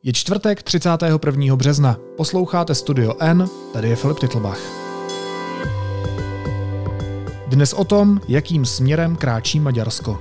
Je čtvrtek 31. března. Posloucháte Studio N, tady je Filip Titlbach. Dnes o tom, jakým směrem kráčí Maďarsko.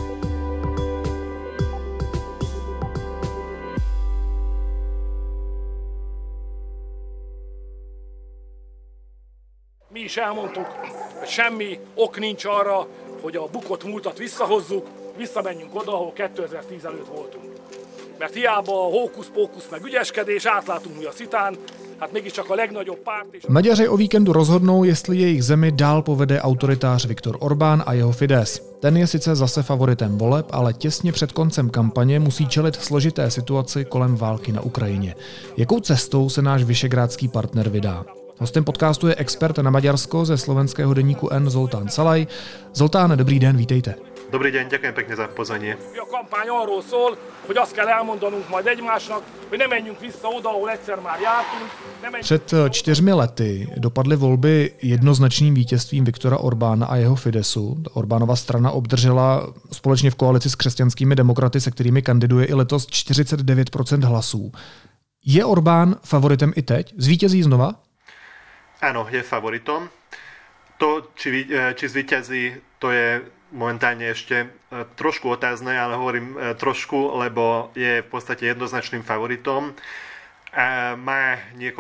Mi is elmondtuk, hogy semmi ok nincs arra, hogy a bukott múltat visszahozzuk, visszamenjünk oda, ahol 2010 előtt voltunk. Mert hiába a hókusz-pókusz meg ügyeskedés, átlátunk mi a szitán, hát mégiscsak a legnagyobb párt... Maďaři o víkendu rozhodnou, jestli jejich zemi dál povede autoritář Viktor Orbán a jeho Fidesz. Ten je sice zase favoritem voleb, ale těsně před koncem kampaně musí čelit složité situaci kolem války na Ukrajině. Jakou cestou se náš visegrádský partner vydá? Hostem podcastu je expert na Maďarsko ze slovenského deníku N Zoltán Szalay. Zoltán, dobrý den, vítejte. Dobrý deň, ďakujem pekne za pozvanie. A kampány arról szól, hogy azt kell elmondanunk majd egymásnak, hogy ne menjünk vissza oda, ahol egyszer már jártunk. Před 4 lety dopadly volby jednoznačným vítězstvím Viktora Orbána a jeho Fideszu. Orbánova strana obdržela společně v koalici s křesťanskými demokraty, se kterými kandiduje i letos, 49% hlasů. Je Orbán favoritem i teď? Zvítězí znova? Áno, je favoritom. To, či zvíťazí, to je momentálne ešte trošku otázne, ale hovorím trošku, lebo je v podstate jednoznačným favoritom. Má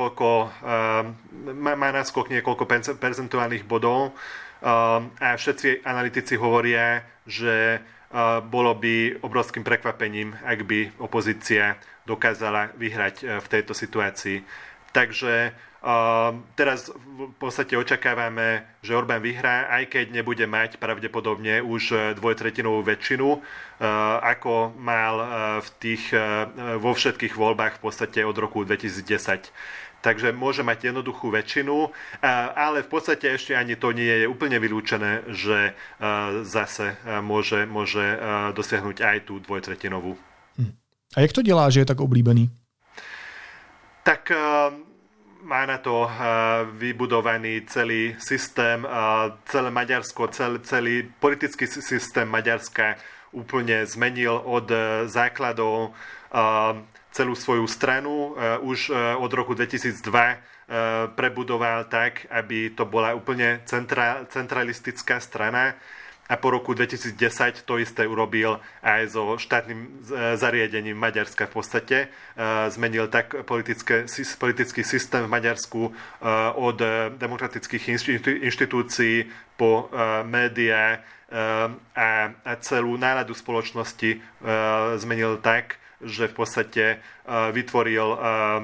náskok niekoľko percentuálnych bodov a všetci analytici hovoria, že bolo by obrovským prekvapením, ak by opozícia dokázala vyhrať v tejto situácii. Takže teraz v podstate očakávame, že Orbán vyhrá, aj keď nebude mať pravdepodobne už dvojtretinovú väčšinu, ako mal vo všetkých voľbách v podstate od roku 2010. Takže môže mať jednoduchú väčšinu, ale v podstate ešte ani to nie je úplne vylúčené, že zase môže dosiahnuť aj tú dvojtretinovú. A jak to dělá, že je tak oblíbený? Tak má na to vybudovaný celý systém, celé Maďarsko, celý politický systém Maďarska úplne zmenil od základov celú svoju stranu. Už od roku 2002 prebudoval tak, aby to bola úplne centralistická strana. A po roku 2010 to isté urobil aj so štátnym zariadením Maďarska v podstate. Zmenil tak politický systém v Maďarsku od demokratických inštitúcií po médiá a celú náladu spoločnosti zmenil tak, že v podstate vytvoril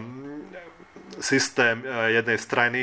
systém jednej strany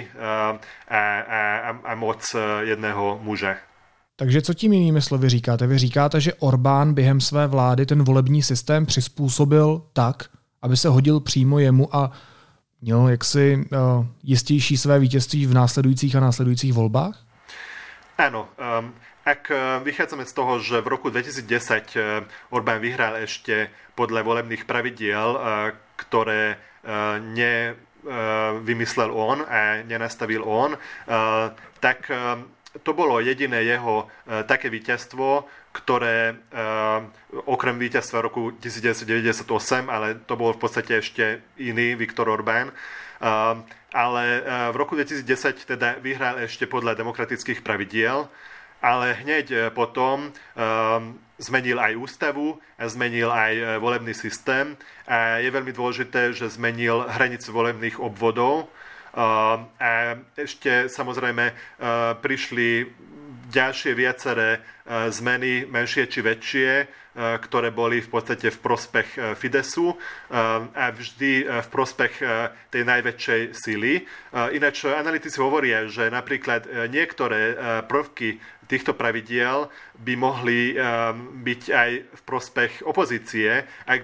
a moc jedného muža. Takže co tím jinými slovy říkáte? Vy říkáte, že Orbán během své vlády ten volební systém přizpůsobil tak, aby se hodil přímo jemu a měl jaksi jistější své vítězství v následujících volbách? Áno. Ak vychádzame z toho, že v roku 2010 Orbán vyhral ešte podľa volebných pravidiel, ktoré nevymyslel on a nenastavil on, tak to bolo jediné jeho také víťazstvo, ktoré okrem víťazstva roku 1998, ale to bol v podstate ešte iný Viktor Orbán, ale v roku 2010 teda vyhral ešte podľa demokratických pravidiel, ale hneď potom zmenil aj ústavu a zmenil aj volebný systém a je veľmi dôležité, že zmenil hranice volebných obvodov. A ešte samozrejme prišli ďalšie viaceré zmeny, menšie či väčšie, ktoré boli v podstate v prospech Fidesu a vždy v prospech tej najväčšej sily. Ináč analytici hovoria, že napríklad niektoré prvky týchto pravidiel by mohli byť aj v prospech opozície, ak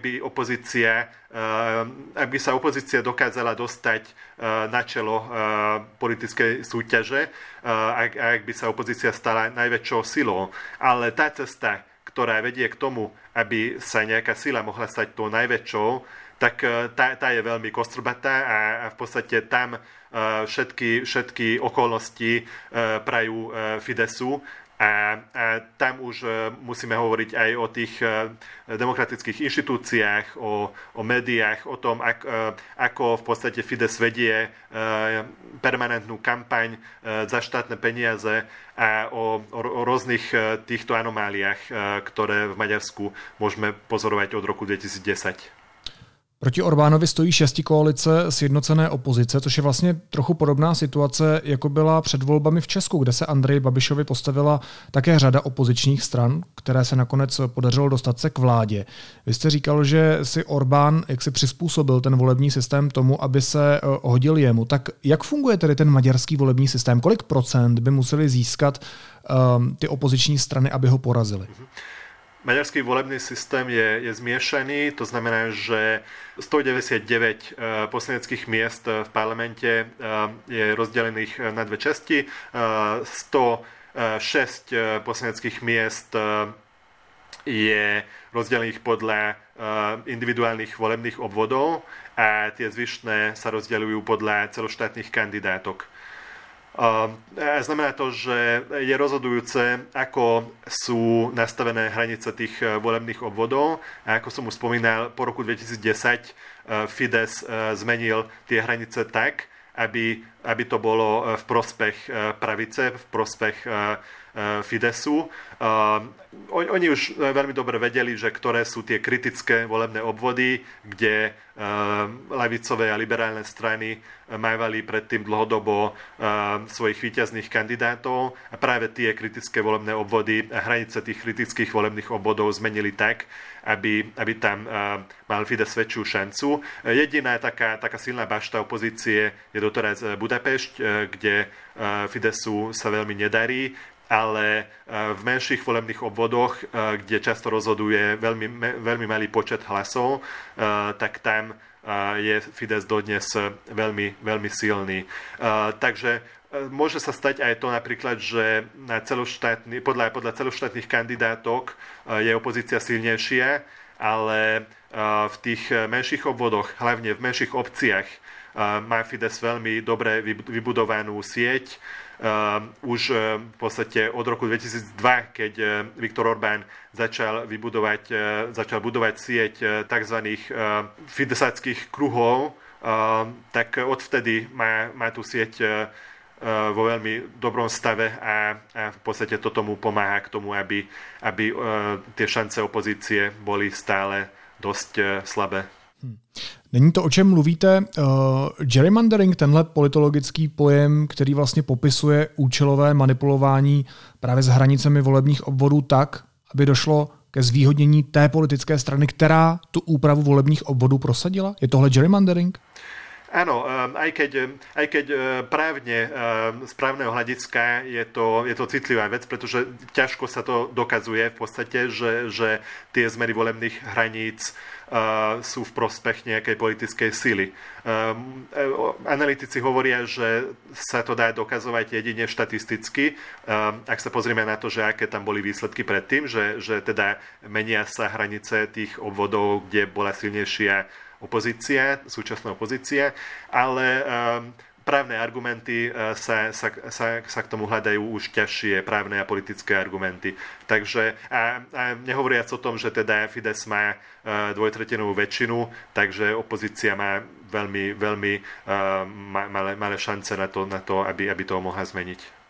by sa opozícia dokázala dostať na čelo politickej súťaže, ak by sa opozícia stala najväčšou silou. Ale tá cesta, ktorá vedie k tomu, aby sa nejaká sila mohla stať tou najväčšou, tak tá je veľmi kostrbatá a v podstate tam všetky okolnosti prajú Fidesu A tam už musíme hovoriť aj o tých demokratických inštitúciách, o médiách, o tom, ako v podstate Fidesz vedie permanentnú kampaň za štátne peniaze a o rôznych týchto anomáliách, ktoré v Maďarsku môžeme pozorovať od roku 2010. Proti Orbánovi stojí šestikoalice sjednocené opozice, což je vlastně trochu podobná situace, jako byla před volbami v Česku, kde se Andreji Babišovi postavila také řada opozičních stran, které se nakonec podařilo dostat se k vládě. Vy jste říkal, že si Orbán jak si přizpůsobil ten volební systém tomu, aby se hodil jemu. Tak jak funguje tedy ten maďarský volební systém? Kolik procent by museli získat ty opoziční strany, aby ho porazili? Maďarský volebný systém je zmiešaný, to znamená, že 199 poslaneckých miest v parlamente je rozdelených na dve časti. 106 poslaneckých miest je rozdelených podľa individuálnych volebných obvodov a tie zvyšné sa rozdeľujú podľa celoštátnych kandidátok. Znamená to, že je rozhodujúce, ako sú nastavené hranice tých volebných obvodov. A ako som už spomínal, po roku 2010 Fidesz zmenil tie hranice tak, aby to bolo v prospech pravice, v prospech Fideszu. Oni už veľmi dobre vedeli, že ktoré sú tie kritické volebné obvody, kde ľavicové a liberálne strany mávali predtým dlhodobo svojich víťazných kandidátov a práve tie kritické volebné obvody a hranice tých kritických volebných obvodov zmenili tak, aby tam mal Fidesz väčšiu šancu. Jediná taká silná bašta opozície je doteraz Budapešť, kde Fideszu sa veľmi nedarí, ale v menších volebných obvodoch, kde často rozhoduje veľmi malý počet hlasov, tak tam je Fidesz dodnes veľmi silný. Takže môže sa stať aj to napríklad, že podľa celoštátnych kandidátok je opozícia silnejšia, ale v tých menších obvodoch, hlavne v menších obciach, má Fidesz veľmi dobre vybudovanú sieť. Už v podstate od roku 2002, keď Viktor Orbán začal budovať sieť tzv. Fidesáckých kruhov, tak odvtedy má tú sieť vo veľmi dobrom stave a v podstate to tomu pomáha k tomu, aby tie šance opozície boli stále dosť slabé. Není to, o čem mluvíte. Gerrymandering, tenhle politologický pojem, který vlastně popisuje účelové manipulování právě s hranicemi volebních obvodů tak, aby došlo ke zvýhodnění té politické strany, která tu úpravu volebních obvodů prosadila? Je tohle gerrymandering? Áno, aj keď právne, z právneho hľadiska je to citlivá vec, pretože ťažko sa to dokazuje v podstate, že tie zmeny volebných hraníc sú v prospech nejakej politickej sily. Analytici hovoria, že sa to dá dokazovať jedine štatisticky. Ak sa pozrieme na to, že aké tam boli výsledky predtým, že teda menia sa hranice tých obvodov, kde bola silnejšia súčasná opozícia, ale právne argumenty sa k tomu hľadajú už ťažšie právne a politické argumenty. Takže a nehovoriac o tom, že teda Fidesz má dvojtretinovú väčšinu, takže opozícia má veľmi malé šance na to, aby to mohla zmeniť.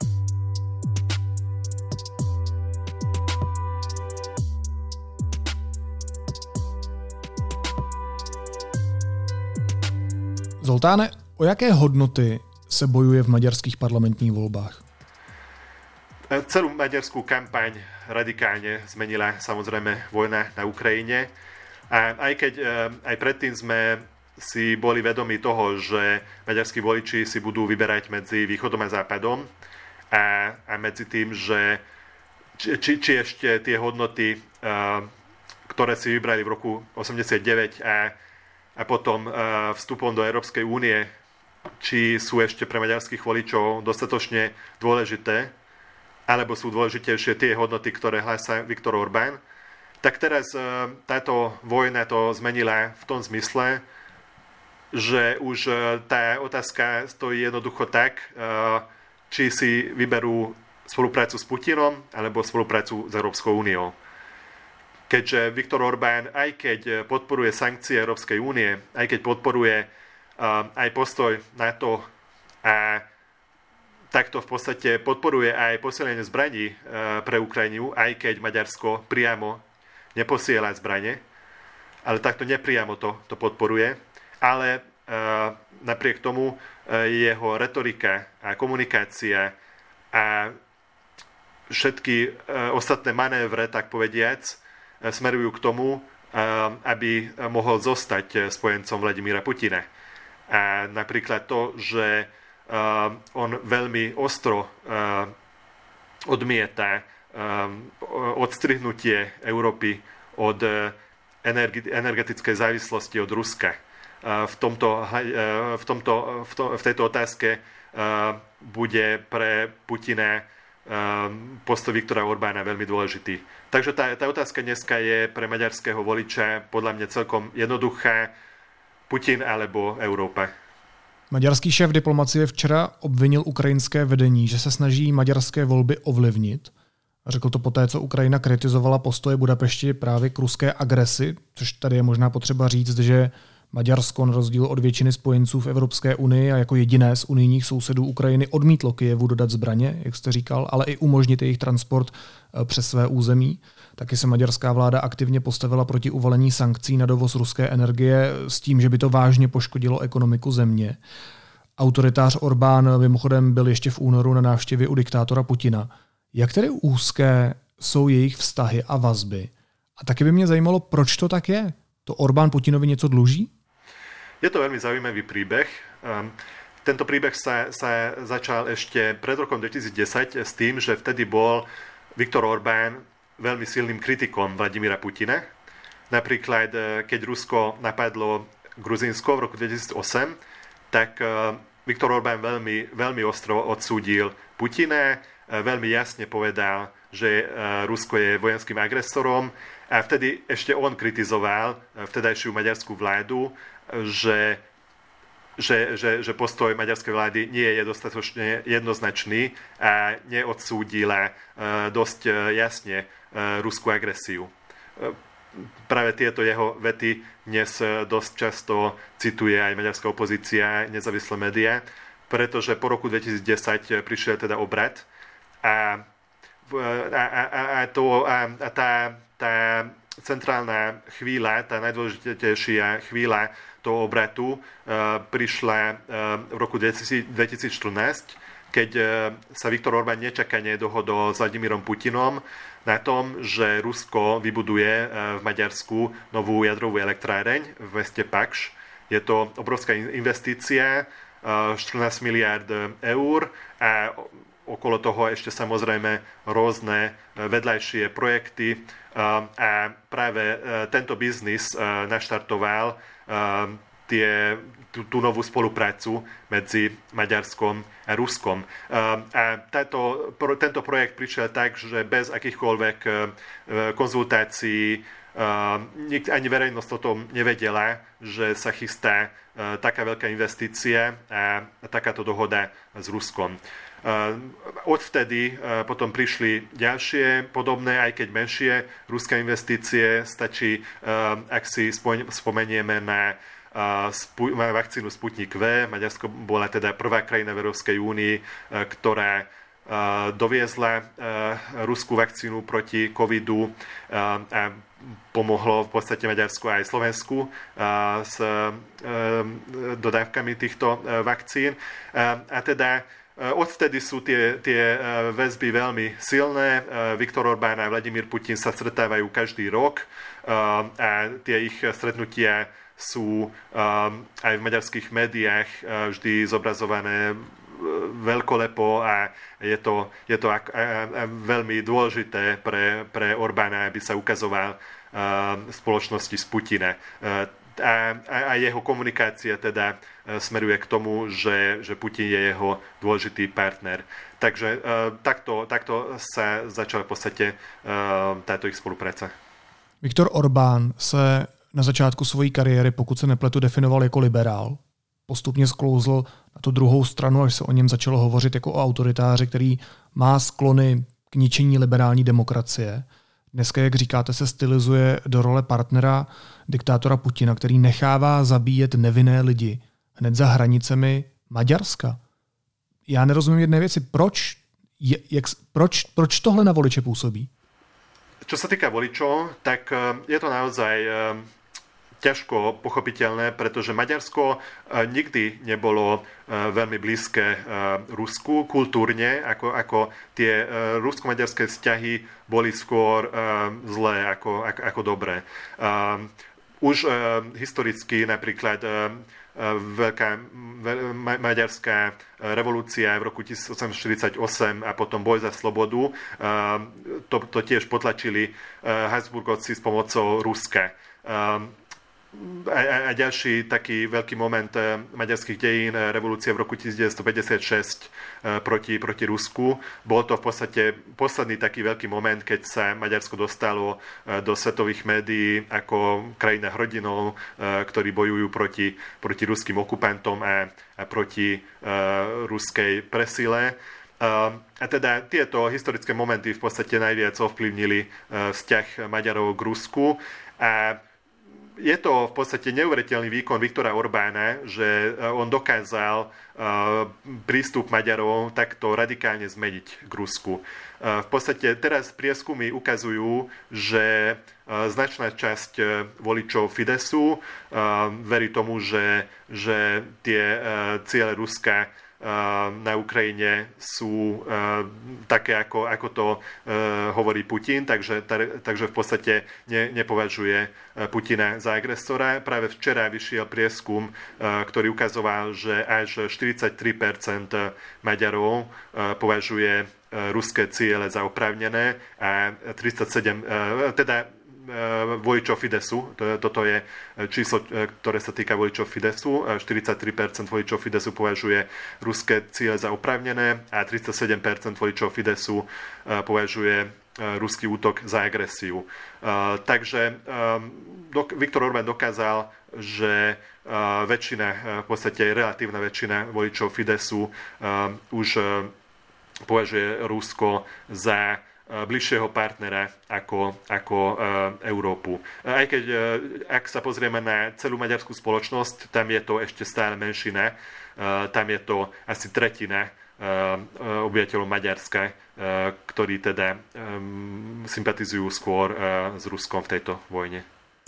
Zoltáne, o jaké hodnoty se bojuje v maďarských parlamentních volbách? Celú maďarskú kampaň radikálne zmenila samozrejme vojna na Ukrajine. A aj predtým sme si boli vedomi toho, že maďarskí voliči si budú vyberať medzi východom a západom a medzi tým, že či ešte tie hodnoty, ktoré si vybrali v roku 89 a potom vstupom do Európskej únie, či sú ešte pre maďarských voličov dostatočne dôležité, alebo sú dôležitejšie tie hodnoty, ktoré hlásá Viktor Orbán, tak teraz táto vojna to zmenila v tom zmysle, že už tá otázka stojí jednoducho tak, či si vyberú spoluprácu s Putinom alebo spoluprácu s Európskou úniou. Keďže Viktor Orbán, aj keď podporuje sankcie Európskej únie, aj keď podporuje aj postoj NATO a takto v podstate podporuje aj posilnenie zbraní pre Ukrajinu, aj keď Maďarsko priamo neposiela zbranie, ale takto nepriamo to podporuje. Ale napriek tomu jeho retorika a komunikácia a všetky ostatné manévre, tak povediac, smerujú k tomu, aby mohol zostať spojencom Vladimíra Putina. A napríklad to, že on veľmi ostro odmieta odstrihnutie Európy od energetickej závislosti od Ruska. V tejto otázke bude pre Putina postoj Viktora Orbána veľmi dôležitý. Takže tá otázka dneska je pre maďarského voliča podľa mňa celkom jednoduchá: Putin alebo Európa. Maďarský šéf diplomacie včera obvinil ukrajinské vedení, že se snaží maďarské volby ovlivnit. A řekl to poté, co Ukrajina kritizovala postoje Budapešti právě k ruské agresi, což tady je možná potřeba říct, že Maďarsko na rozdíl od většiny spojenců v Evropské unii a jako jediné z unijních sousedů Ukrajiny odmítlo Kyjevu dodat zbraně, jak jste říkal, ale i umožnit jejich transport přes své území. Taky se maďarská vláda aktivně postavila proti uvalení sankcí na dovoz ruské energie s tím, že by to vážně poškodilo ekonomiku země. Autoritář Orbán mimochodem byl ještě v únoru na návštěvě u diktátora Putina. Jak tedy úzké jsou jejich vztahy a vazby? A taky by mě zajímalo, proč to tak je? To Orbán Putinovi něco dluží? Je to veľmi zaujímavý príbeh. Tento príbeh sa začal ešte pred rokom 2010 s tým, že vtedy bol Viktor Orbán veľmi silným kritikom Vladimíra Putina. Napríklad, keď Rusko napadlo Gruzínsko v roku 2008, tak Viktor Orbán veľmi ostro odsúdil Putina, veľmi jasne povedal, že Rusko je vojenským agresorom, a vtedy ešte on kritizoval vtedajšiu maďarskú vládu, že postoj maďarskej vlády nie je dostatočne jednoznačný a neodsúdila dosť jasne ruskú agresiu. Práve tieto jeho vety dnes dosť často cituje aj maďarská opozícia, nezávislé médiá, pretože po roku 2010 prišiel teda obrat a tá centrálna chvíľa, tá najdôležitejšia chvíľa toho obratu prišla v roku 2014, keď sa Viktor Orbán nečakane dohodol s Vladimírom Putinom na tom, že Rusko vybuduje v Maďarsku novú jadrovú elektráreň v meste Pakš. Je to obrovská investícia, 14 miliárd eur, a okolo toho ešte samozrejme rôzne vedľajšie projekty, a práve tento biznis naštartoval tú novú spoluprácu medzi Maďarskom a Ruskom. A tento projekt prišiel tak, že bez akýchkoľvek konzultácií ani verejnosť o tom nevedela, že sa chystá taká veľká investícia a takáto dohoda s Ruskom. Odvtedy potom prišli ďalšie podobné, aj keď menšie ruské investície. Stačí, ak si spomenieme na vakcínu Sputnik V. Maďarsko bola teda prvá krajina v Európskej únii, ktorá doviezla ruskú vakcínu proti covidu a pomohlo v podstate Maďarsku aj Slovensku s dodávkami týchto vakcín. A teda odvtedy sú tie väzby veľmi silné. Viktor Orbán a Vladimír Putin sa stretávajú každý rok a tie ich stretnutia sú aj v maďarských médiách vždy zobrazované veľkolepo a je to veľmi dôležité pre Orbána, aby sa ukazoval v spoločnosti z Putina. A jeho komunikácia teda smeruje k tomu, že Putin je jeho dôležitý partner. Takže takto sa začala v podstate táto ich spolupráca. Viktor Orbán se na začátku svojí kariéry, pokud se nepletu, definoval jako liberál. postupně sklouzl na tu druhou stranu, až se o něm začalo hovořit jako o autoritáři, který má sklony k ničení liberální demokracie. Dneska, jak říkáte, se stylizuje do role partnera diktátora Putina, který nechává zabíjet nevinné lidi hned za hranicemi Maďarska. Já nerozumím jedné věci. Proč tohle na voliče působí? Čo sa týka voličov, tak je to naozaj ťažko pochopiteľné, pretože Maďarsko nikdy nebolo veľmi blízke Rusku kultúrne, ako tie rusko-maďarské vzťahy boli skôr zlé ako dobré. Už historicky napríklad veľká maďarská revolúcia v roku 1848 a potom boj za slobodu, to tiež potlačili Habsburgovci s pomocou Ruska. A ďalší taký veľký moment maďarských dejín, revolúcia v roku 1956 proti Rusku. Bol to v podstate posledný taký veľký moment, keď sa Maďarsko dostalo do svetových médií ako krajina hrdinov, ktorí bojujú proti ruským okupantom a proti ruskej presile. A teda tieto historické momenty v podstate najviac ovplyvnili vzťah Maďarov k Rusku. A je to v podstate neuveriteľný výkon Viktora Orbána, že on dokázal prístup Maďarov takto radikálne zmeniť k Rusku. V podstate teraz prieskumy ukazujú, že značná časť voličov Fidesu verí tomu, že tie ciele Ruska na Ukrajine sú také, ako to hovorí Putin, takže v podstate nepovažuje Putina za agresora. Práve včera vyšiel prieskum, ktorý ukazoval, že až 43% Maďarov považuje ruské ciele za oprávnené a 37%, teda voličov Fidesu, toto je číslo, ktoré sa týka voličov Fidesu, 43% voličov Fidesu považuje ruské ciele za oprávnené a 37% voličov Fidesu považuje ruský útok za agresiu. Takže Viktor Orbán dokázal, že väčšina, v podstate relatívna väčšina voličov Fidesu už považuje Rusko za bližšieho partnera ako Európu. Aj keď, ak sa pozrieme na celú maďarskú spoločnosť, tam je to ešte stále menšina, tam je to asi tretina obyvateľov Maďarska, ktorí teda sympatizujú skôr s Ruskom v tejto vojne.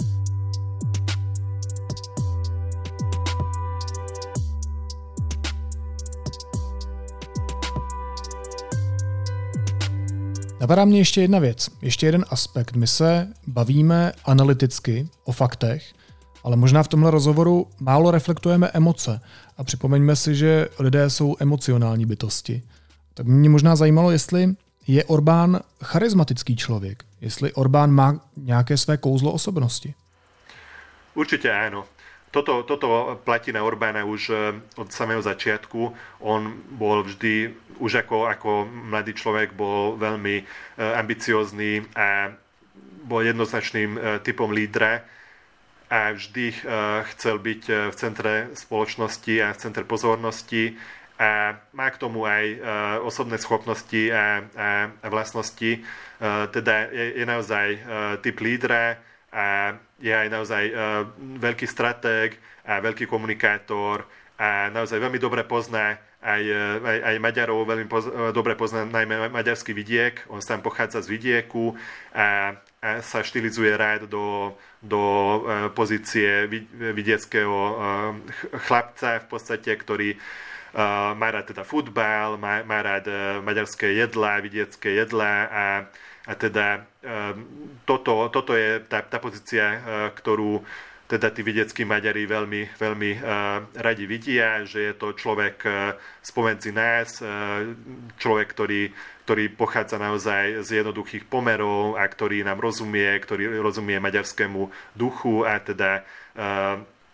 Napadá mě ještě jedna věc, ještě jeden aspekt. My se bavíme analyticky o faktech, ale možná v tomhle rozhovoru málo reflektujeme emoce. A připomeňme si, že lidé jsou emocionální bytosti. Tak mě možná zajímalo, jestli je Orbán charizmatický člověk, jestli Orbán má nějaké své kouzlo osobnosti. Určite áno. Toto platí na Orbána už od samého začiatku. On bol vždy, už ako mladý človek, bol veľmi ambiciózny a bol jednoznačným typom lídra a vždy chcel byť v centre spoločnosti a v centre pozornosti a má k tomu aj osobné schopnosti a vlastnosti. Teda je naozaj typ lídra a je aj naozaj veľký stratég a veľký komunikátor a naozaj veľmi dobre pozná aj Maďarov, veľmi dobre pozná najmä maďarský vidiek. On sám pochádza z vidieku a sa štilizuje rád do pozície vidieckého chlapca v podstate, ktorý má rád teda futbal, má rád maďarské jedlá, vidiecké jedlá a teda toto je tá pozícia, ktorú teda tí vidieckí Maďari veľmi radi vidia, že je to človek spomedzi nás, človek, ktorý pochádza naozaj z jednoduchých pomerov a ktorý nám rozumie, ktorý rozumie maďarskému duchu a teda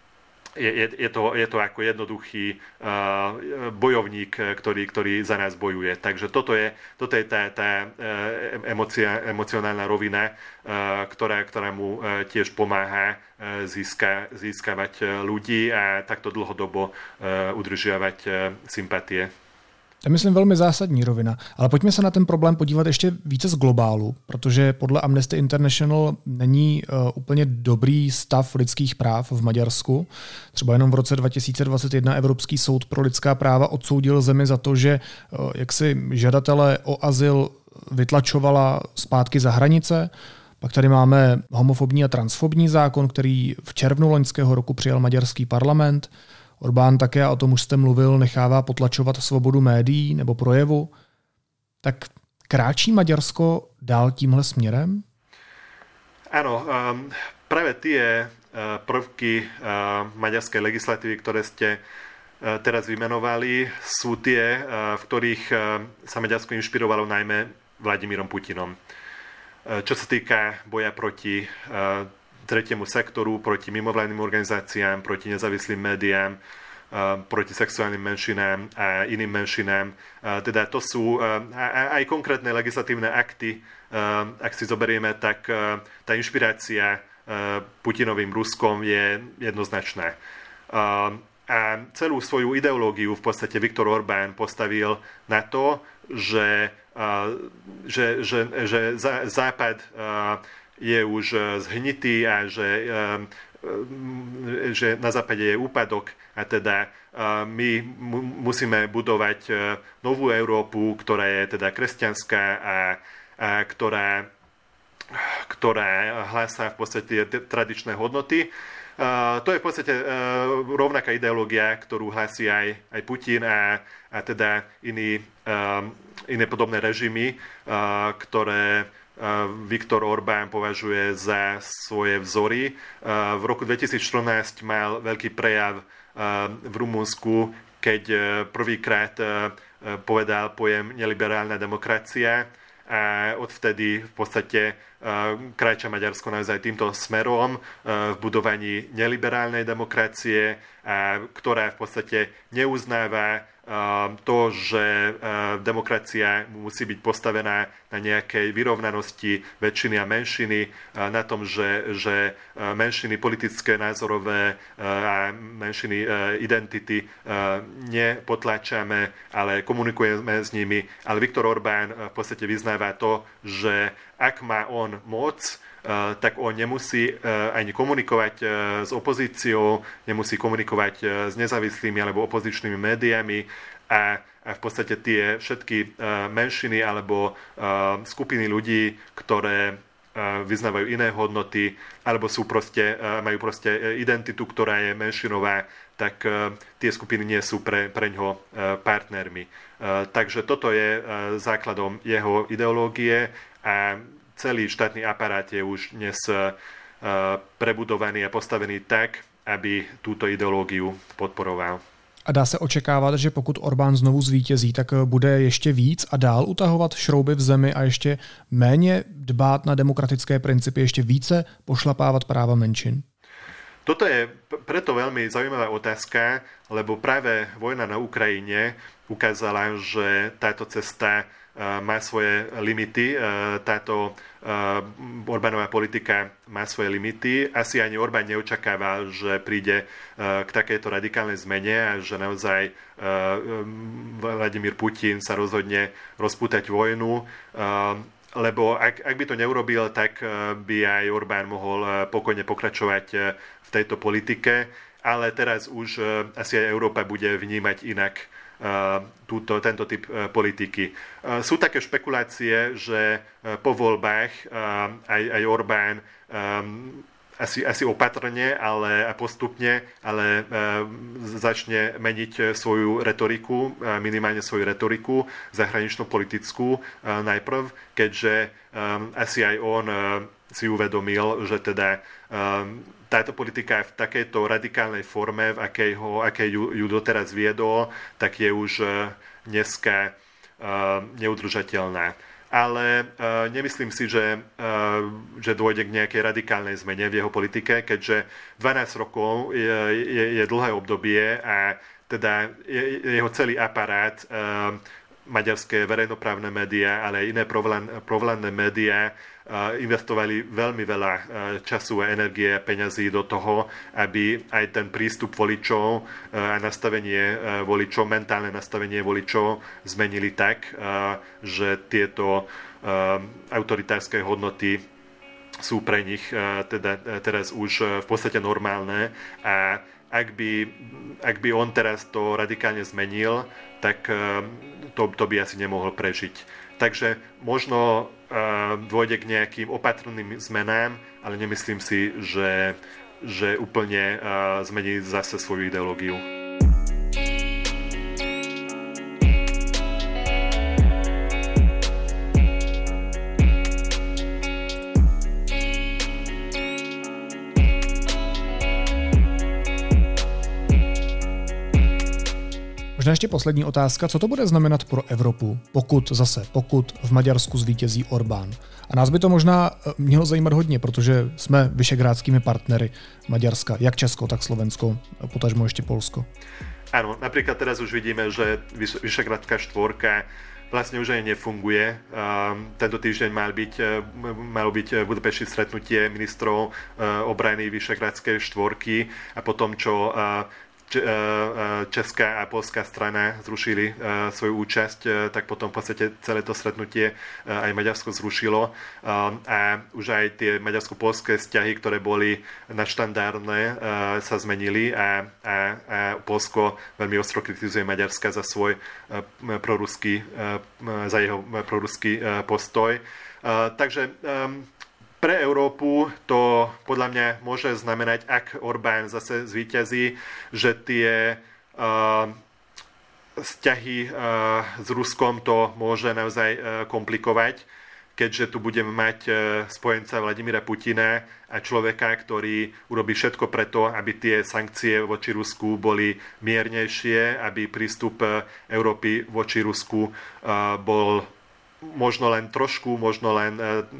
je to ako jednoduchý bojovník, ktorý za nás bojuje. Takže toto je tá emocionálna rovina, ktorá mu tiež pomáha získavať ľudí a takto dlhodobo udržiavať sympatie. To je, myslím, velmi zásadní rovina. Ale pojďme se na ten problém podívat ještě více z globálu, protože podle Amnesty International není úplně dobrý stav lidských práv v Maďarsku. Třeba jenom v roce 2021 Evropský soud pro lidská práva odsoudil zemi za to, že jaksi žadatelé o azyl vytlačovala zpátky za hranice. Pak tady máme homofobní a transfobní zákon, který v červnu loňského roku přijal maďarský parlament. Orbán také, a o tom už jste mluvil, nechává potlačovat svobodu médií nebo projevu. Tak kráčí Maďarsko dál tímhle směrem? Áno, práve tie prvky maďarskej legislatívy, ktoré ste teraz vymenovali, sú tie, v ktorých sa Maďarsko inšpirovalo najmä Vladimírom Putinom. Čo sa týka boja proti tretiemu sektoru, proti mimovládnym organizáciám, proti nezávislým médiám, proti sexuálnym menšinám a iným menšinám. Teda to sú aj konkrétne legislatívne akty. Ak si zoberieme, tak tá inšpirácia Putinovým Ruskom je jednoznačná. A celú svoju ideológiu v podstate Viktor Orbán postavil na to, že Západ je už zhnitý a že na západe je úpadok a teda my musíme budovať novú Európu, ktorá je teda kresťanská a ktorá hlásá v podstate tradičné hodnoty. To je v podstate rovnaká ideológia, ktorú hlási aj Putin a teda iné podobné režimy, ktoré Viktor Orbán považuje za svoje vzory. V roku 2014 mal veľký prejav v Rumunsku, keď prvýkrát povedal pojem neliberálna demokracia a odvtedy v podstate kráča Maďarsko naozaj týmto smerom v budovaní neliberálnej demokracie, ktorá v podstate neuznáva to, že demokracia musí byť postavená na nejakej vyrovnanosti väčšiny a menšiny, na tom, že menšiny politické, názorové a menšiny identity nepotláčame, ale komunikujeme s nimi. Ale Viktor Orbán v podstate vyznáva to, že ak má on moc, tak on nemusí ani komunikovať s opozíciou, nemusí komunikovať s nezávislými alebo opozičnými médiami a v podstate tie všetky menšiny alebo skupiny ľudí, ktoré vyznávajú iné hodnoty alebo majú identitu, ktorá je menšinová, tak tie skupiny nie sú pre ňoho partnermi. Takže toto je základom jeho ideológie a celý štátny aparát je už dnes prebudovaný a postavený tak, aby túto ideológiu podporoval. A dá se očekávat, že pokud Orbán znovu zvítězí, tak bude ještě víc a dál utahovat šrouby v zemi a ještě méně dbát na demokratické principy, ještě více pošlapávat práva menšin? Toto je preto veľmi zaujímavá otázka, lebo práve vojna na Ukrajine ukázala, že táto cesta má svoje limity, táto Orbánová politika má svoje limity. Asi ani Orbán neočakával, že príde k takejto radikálnej zmene a že naozaj Vladimír Putin sa rozhodne rozpútať vojnu, lebo ak by to neurobil, tak by aj Orbán mohol pokojne pokračovať v tejto politike, ale teraz už asi aj Európa bude vnímať inak tento typ politiky. Sú také špekulácie, že po voľbách aj Orbán asi opatrne, ale postupne, ale začne meniť svoju retoriku, minimálne svoju retoriku zahranično-politickú najprv, keďže asi aj on si uvedomil, že teda táto politika v takejto radikálnej forme, v akej ju doteraz viedol, tak je už dneska neudržateľná. ale nemyslím si, že dôjde k nejakej radikálnej zmene v jeho politike, keďže 12 rokov je dlhé obdobie a teda jeho celý aparát, maďarské verejnoprávne médiá, ale aj iné provládne médiá investovali veľmi veľa času a energie a peňazí do toho, aby aj ten prístup voličov a nastavenie voličov, mentálne nastavenie voličov zmenili tak, že tieto autoritárske hodnoty sú pre nich teda teraz už v podstate normálne a ak by on teraz to radikálne zmenil, tak to by asi nemohol prežiť. Takže možno dôjde k nejakým opatrným zmenám, ale nemyslím si, že úplne zmení zase svoju ideológiu. Možná ještě poslední otázka, co to bude znamenat pro Evropu, pokud v Maďarsku zvítězí Orbán. A nás by to možná mělo zajímat hodně, protože jsme vyšegrádskými partnery Maďarska, jak Česko, tak Slovensko, potažmo ještě Polsko. Áno, napríklad teraz už vidíme, že Vyšegrádská štvorka vlastne už aj nefunguje. Tento týždeň malo byť v Budapešti stretnutie ministrov obrany Vyšegrádskej štvorky a potom, čo česká a polská strana zrušili svoju účasť, tak potom v podstate celé to stretnutie aj Maďarsko zrušilo a už aj tie maďarsko-polské vzťahy, ktoré boli nadštandardné, sa zmenili a Polsko veľmi ostro kritizuje Maďarska za svoj jeho proruský postoj. Takže pre Európu to podľa mňa môže znamenať, ak Orbán zase zvíťazí, že tie vzťahy s Ruskom to môže naozaj komplikovať, keďže tu budeme mať spojenca Vladimíra Putina a človeka, ktorý urobí všetko preto, aby tie sankcie voči Rusku boli miernejšie, aby prístup Európy voči Rusku bol možno len trošku, možno len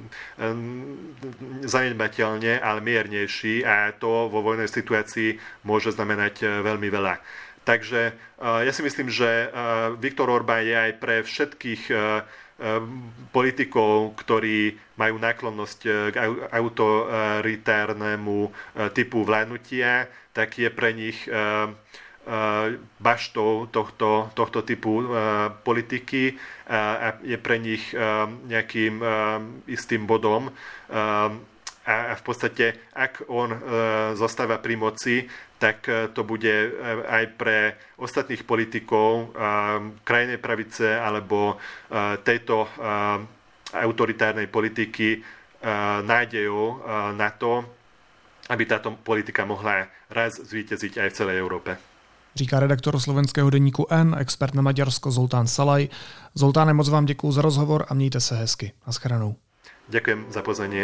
zanedbateľne, ale miernejší a to vo vojnej situácii môže znamenať veľmi veľa. Takže ja si myslím, že Viktor Orbán je aj pre všetkých politikov, ktorí majú náklonnosť k autoritárnemu typu vládnutia, tak je pre nich baštou tohto typu politiky a je pre nich nejakým istým bodom a v podstate ak on zostáva pri moci, tak to bude aj pre ostatných politikov krajnej pravice alebo tejto autoritárnej politiky nádejou na to, aby táto politika mohla raz zvíťaziť aj v celej Európe. Říká redaktor slovenského deníku N, expert na Maďarsko Zoltán Salaj. Zoltáne, moc vám děkuju za rozhovor a mějte se hezky. Naschledanou. Ďakujem za pozvanie.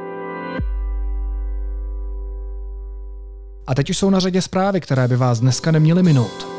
A teď už jsou na řadě zprávy, které by vás dneska neměly minout.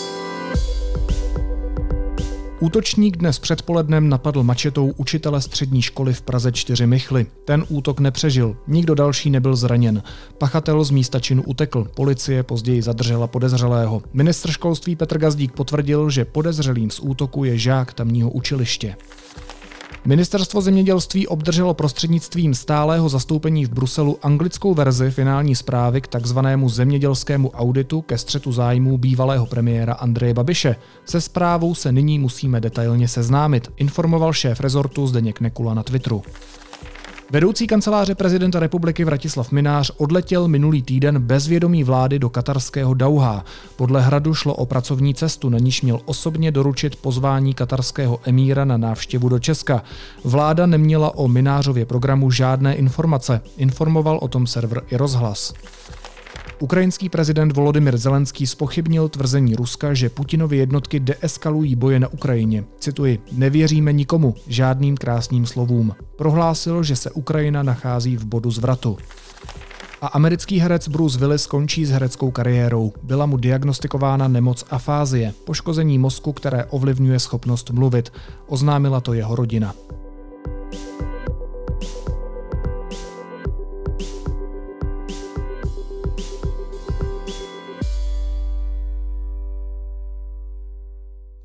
Útočník dnes předpolednem napadl mačetou učitele střední školy v Praze 4 Michly. Ten útok nepřežil, nikdo další nebyl zraněn. Pachatel z místa činu utekl, policie později zadržela podezřelého. Ministr školství Petr Gazdík potvrdil, že podezřelým z útoku je žák tamního učiliště. Ministerstvo zemědělství obdrželo prostřednictvím stálého zastoupení v Bruselu anglickou verzi finální zprávy k takzvanému zemědělskému auditu ke střetu zájmů bývalého premiéra Andreje Babiše. Se zprávou se nyní musíme detailně seznámit, informoval šéf rezortu Zdeněk Nekula na Twitteru. Vedoucí kanceláře prezidenta republiky Vratislav Mynář odletěl minulý týden bez vědomí vlády do katarského Dauhá. Podle Hradu šlo o pracovní cestu, na níž měl osobně doručit pozvání katarského emíra na návštěvu do Česka. Vláda neměla o Mynářově programu žádné informace, informoval o tom server iRozhlas. Ukrajinský prezident Volodymyr Zelenský zpochybnil tvrzení Ruska, že Putinovy jednotky deeskalují boje na Ukrajině. Cituji, nevěříme nikomu, žádným krásným slovům. Prohlásil, že se Ukrajina nachází v bodu zvratu. A americký herec Bruce Willis končí s hereckou kariérou. Byla mu diagnostikována nemoc afázie, poškození mozku, které ovlivňuje schopnost mluvit. Oznámila to jeho rodina.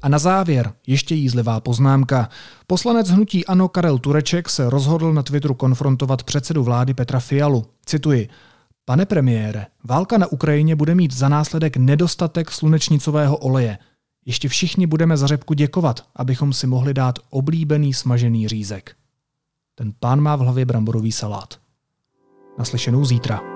A na závěr ještě jízlivá poznámka. Poslanec hnutí ANO Karel Tureček se rozhodl na Twitteru konfrontovat předsedu vlády Petra Fialu. Cituji: Pane premiére, válka na Ukrajině bude mít za následek nedostatek slunečnicového oleje. Ještě všichni budeme za řepku děkovat, abychom si mohli dát oblíbený smažený řízek. Ten pán má v hlavě bramborový salát. Naslyšenou zítra.